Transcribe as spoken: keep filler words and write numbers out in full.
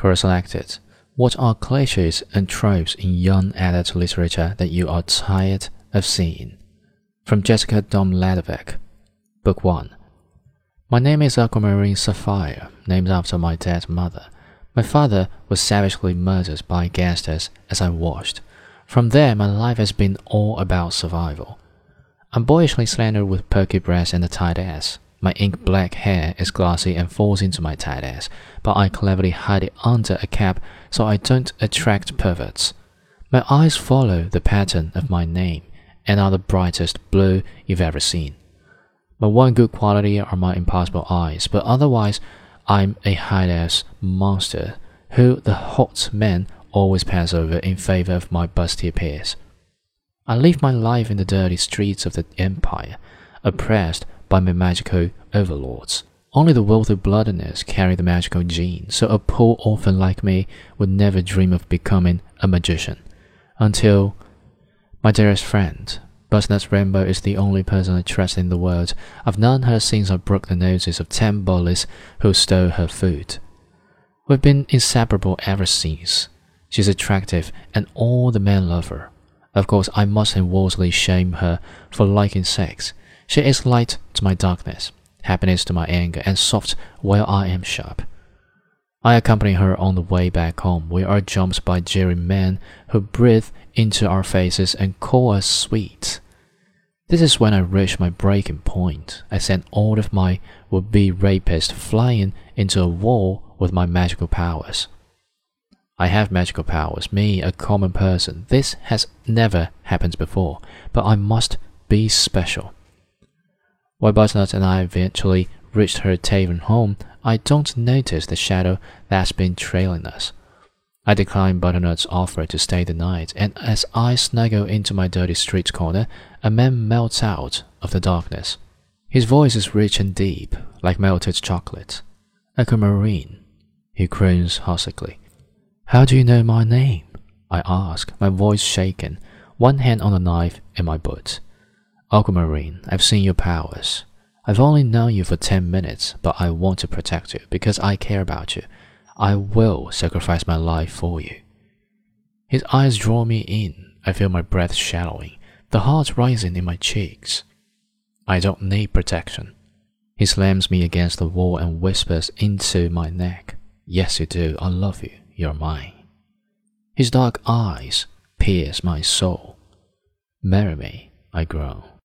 Quora selected. What are cliches and tropes in young adult literature that you are tired of seeing? From Jessica Domladovic. Book one. My name is Aquamarine Sapphire, named after my dead mother. My father was savagely murdered by gangsters as I watched. From there, my life has been all about survival. I'm boyishly slender with perky breasts and a tight ass. My ink-black hair is glossy and falls into my tight ass, but I cleverly hide it under a cap so I don't attract perverts. My eyes follow the pattern of my name and are the brightest blue you've ever seen. My one good quality are my impossible eyes, but otherwise I'm a high-ass monster who the hot men always pass over in favor of my busty peers. I live my life in the dirty streets of the empire, oppressed by my magical overlords. Only the wealthy bloodedness carry the magical gene, so a poor orphan like me would never dream of becoming a magician. Until my dearest friend, Butternut Rainbow is the only person I trust in the world. I've known her since I broke the noses of ten bullies who stole her food. We've been inseparable ever since. She's attractive, and all the men love her. Of course, I mustn't worldly shame her for liking sex. She is light to my darkness, happiness to my anger, and soft while I am sharp. I accompany her on the way back home. We are jumped by jeering men who breathe into our faces and call us sweet. This is when I reach my breaking point. I send all of my would-be rapists flying into a wall with my magical powers. I have magical powers, me, a common person. This has never happened before, but I must be special. While Butternut and I eventually reached her tavern home, I don't notice the shadow that's been trailing us. I decline Butternut's offer to stay the night, and as I snuggle into my dirty street corner, a man melts out of the darkness. His voice is rich and deep, like melted chocolate. Aquamarine, he croons huskily. How do you know my name? I ask, my voice shaken, one hand on the knife in my boot. Aquamarine, I've seen your powers. I've only known you for ten minutes, but I want to protect you because I care about you. I will sacrifice my life for you. His eyes draw me in. I feel my breath shallowing, the heart rising in my cheeks. I don't need protection. He slams me against the wall and whispers into my neck. Yes, you do. I love you. You're mine. His dark eyes pierce my soul. Marry me, I groan.